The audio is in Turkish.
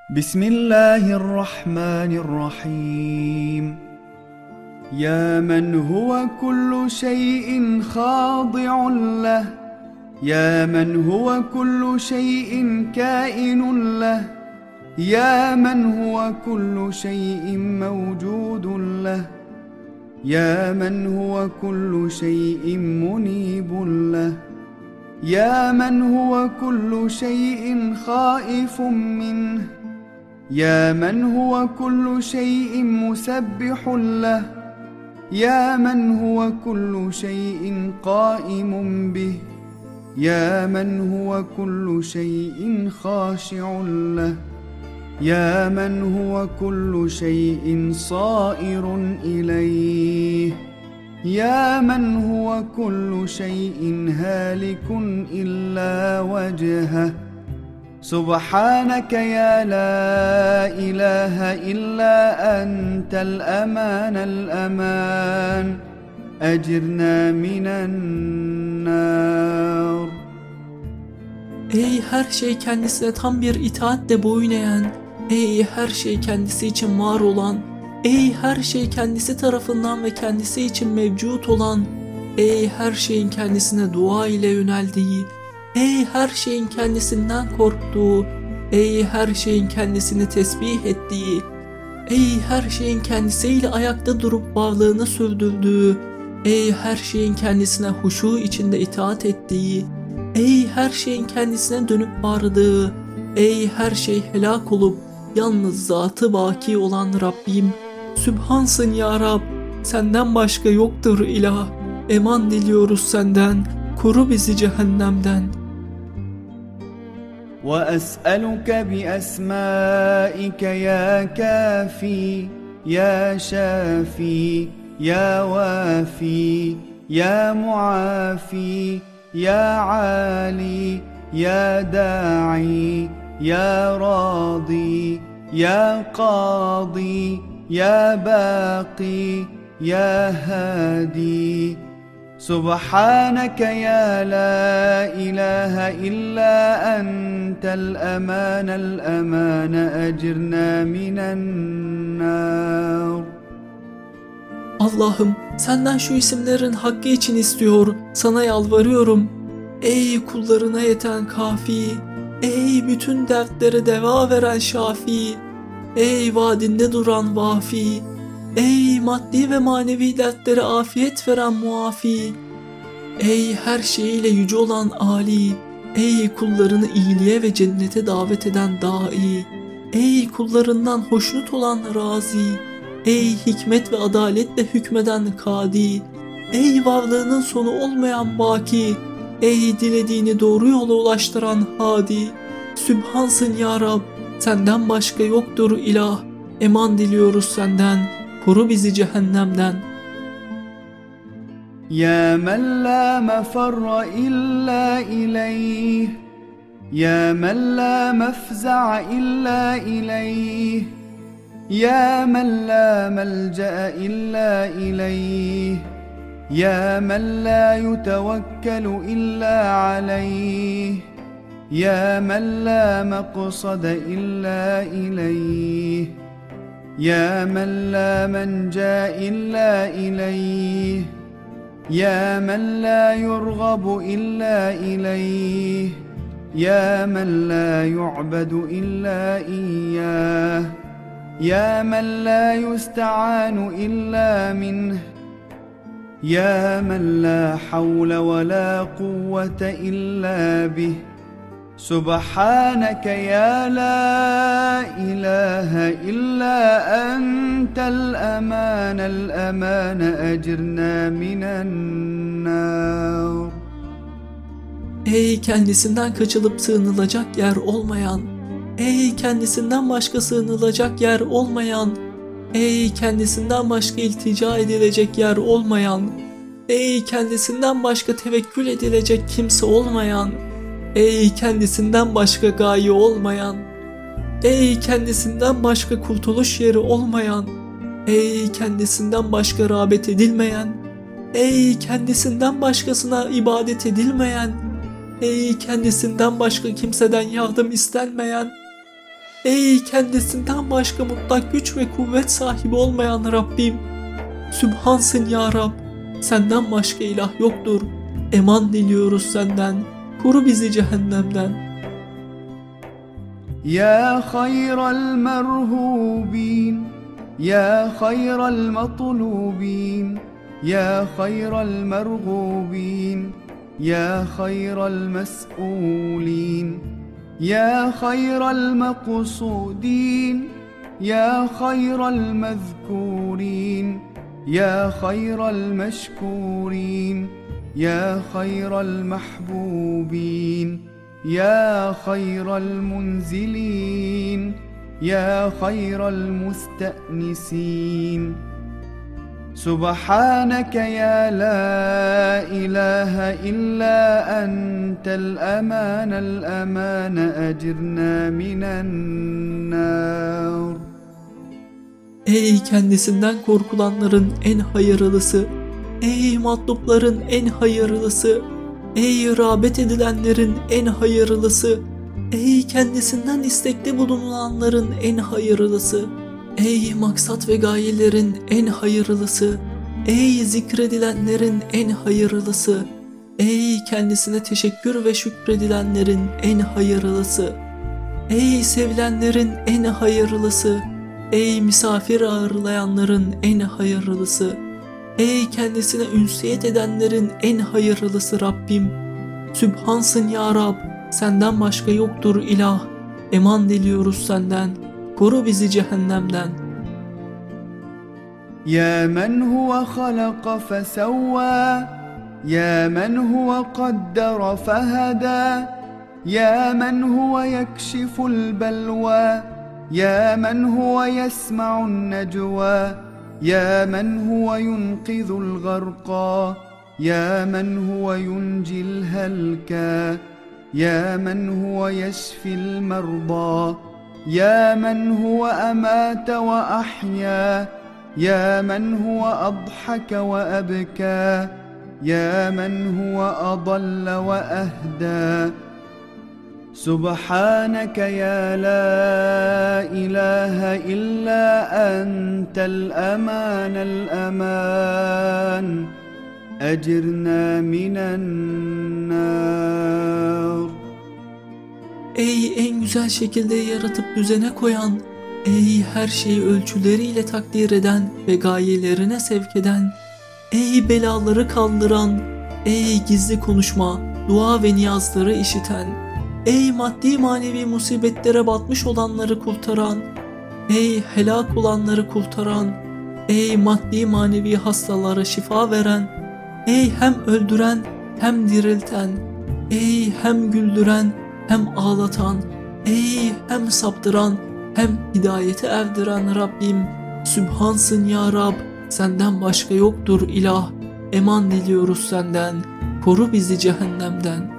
بسم الله الرحمن الرحيم. يا من هو كل شيء خاضع له، يا من هو كل شيء كائن له، يا من هو كل شيء موجود له، يا من هو كل شيء منيب له، يا من هو كل شيء خائف منه، يا من هو كل شيء مسبح له، يا من هو كل شيء قائم به، يا من هو كل شيء خاشع له، يا من هو كل شيء صائر إليه، يا من هو كل شيء هالك إلا وجهه. سبحانك يا لا إله إلا أنت الأمان الأمان، أجرنا من النار. Ey her şey kendisine tam bir itaatle boyun eğen, ey her şey kendisi için var olan, ey her şey kendisi tarafından ve kendisi için mevcut olan, ey her şeyin kendisine dua ile yöneldiği, ey her şeyin kendisinden korktuğu, ey her şeyin kendisini tesbih ettiği, ey her şeyin kendisiyle ayakta durup varlığını sürdürdüğü, ey her şeyin kendisine huşu içinde itaat ettiği, ey her şeyin kendisine dönüp vardığı, ey her şey helak olup yalnız zatı baki olan Rabbim, Sübhansın ya Rab, senden başka yoktur ilah, eman diliyoruz senden, koru bizi cehennemden. وأسألك بأسمائك يا كافي يا شافي يا وافي يا معافي يا عالي يا داعي يا راضي يا قاضي يا باقي يا هادي. سبحانك يا لا إله إلا أنت الأمان الأمان، أجرنا من النار. Allah'ım, senden şu isimlerin hakkı için istiyor, sana yalvarıyorum. Ey kullarına yeten kafi, ey bütün dertlere deva veren şafi, ey vaadinde duran vafi, ey maddi ve manevi dertlere afiyet veren muafi, ey her şeyiyle yüce olan Ali, ey kullarını iyiliğe ve cennete davet eden dai, ey kullarından hoşnut olan razi, ey hikmet ve adaletle hükmeden kadi, ey varlığının sonu olmayan baki, ey dilediğini doğru yola ulaştıran hadi. Sübhansın ya Rab, senden başka yoktur ilah, eman diliyoruz senden, koru bizi cehennemden. يا من لا مفر إلا إليه، يا من لا مفزع إلا إليه، يا من لا ملجأ إلا إليه، يا من لا يتوكل إلا عليه، يا من لا مقصد إلا إليه، يا من لا منجا إلا إليه، يا من لا يرغب إلا إليه، يا من لا يعبد إلا إياه، يا من لا يستعان إلا منه، يا من لا حول ولا قوة إلا به. سبحانك يا لا إله إلا أنت الأمان الأمان، أجرنا من النار. Ey kendisinden kaçılıp sığınılacak yer olmayan, ey kendisinden başka sığınılacak yer olmayan, ey kendisinden başka iltica edilecek yer olmayan, ey kendisinden başka tevekkül edilecek kimse olmayan, ey kendisinden başka gaye olmayan, ey kendisinden başka kurtuluş yeri olmayan, ey kendisinden başka rağbet edilmeyen, ey kendisinden başkasına ibadet edilmeyen, ey kendisinden başka kimseden yardım istenmeyen, Ey kendisinden başka mutlak güç ve kuvvet sahibi olmayan Rabbim. Sübhansın ya Rab. Senden başka ilah yoktur. Eman diliyoruz senden. Koru bizi cehennemden. يا خير المرهوبين يا خير المطلوبين يا خير المرغوبين يا خير المسؤولين يا خير المقصودين يا خير المذكورين يا خير المشكورين يا خير المحبوبين يا خير المنزلين يا خير المستأنسين سبحانك يا لا إله إلا أنت الأمان الأمان أجرنا من النار. Ey kendisinden korkulanların en hayırlısı, ey matlupların en hayırlısı, ey rağbet edilenlerin en hayırlısı, ey kendisinden istekte bulunanların en hayırlısı, ey maksat ve gayelerin en hayırlısı, ey zikredilenlerin en hayırlısı, ey kendisine teşekkür ve şükredilenlerin en hayırlısı, ey sevilenlerin en hayırlısı, ey misafir ağırlayanların en hayırlısı, ey kendisine ünsiyet edenlerin en hayırlısı Rabbim. Sübhansın ya Rab, senden başka yoktur ilah. Eman diliyoruz senden. Koru bizi cehennemden. يا من هو خلق فسوى يا من هو قدر فهدى يا من هو يكشف البلوى يا من هو يسمع النجوى يا من هو ينقذ الغرقى يا من هو ينجي الهلكى يا من هو يشفي المرضى يا من هو أمات وأحيا يا من هو أضحك وأبكى يا من هو أضل وأهدى سبحانك يا لا إله إلا أنت الأمان الأمان أجرنا من النار. Ey en güzel şekilde yaratıp düzene koyan, ey her şeyi ölçüleriyle takdir eden ve gayelerine sevk eden, ey belaları kaldıran, ey gizli konuşma, dua ve niyazları işiten, ey maddi manevi musibetlere batmış olanları kurtaran, ey helak olanları kurtaran, ey maddi manevi hastalara şifa veren, ey hem öldüren hem dirilten, ey hem güldüren hem ağlatan, ey hem saptıran hem hidayete erdiren Rabbim. Sübhansın ya Rab, senden başka yoktur ilah. Eman diliyoruz senden. Koru bizi cehennemden.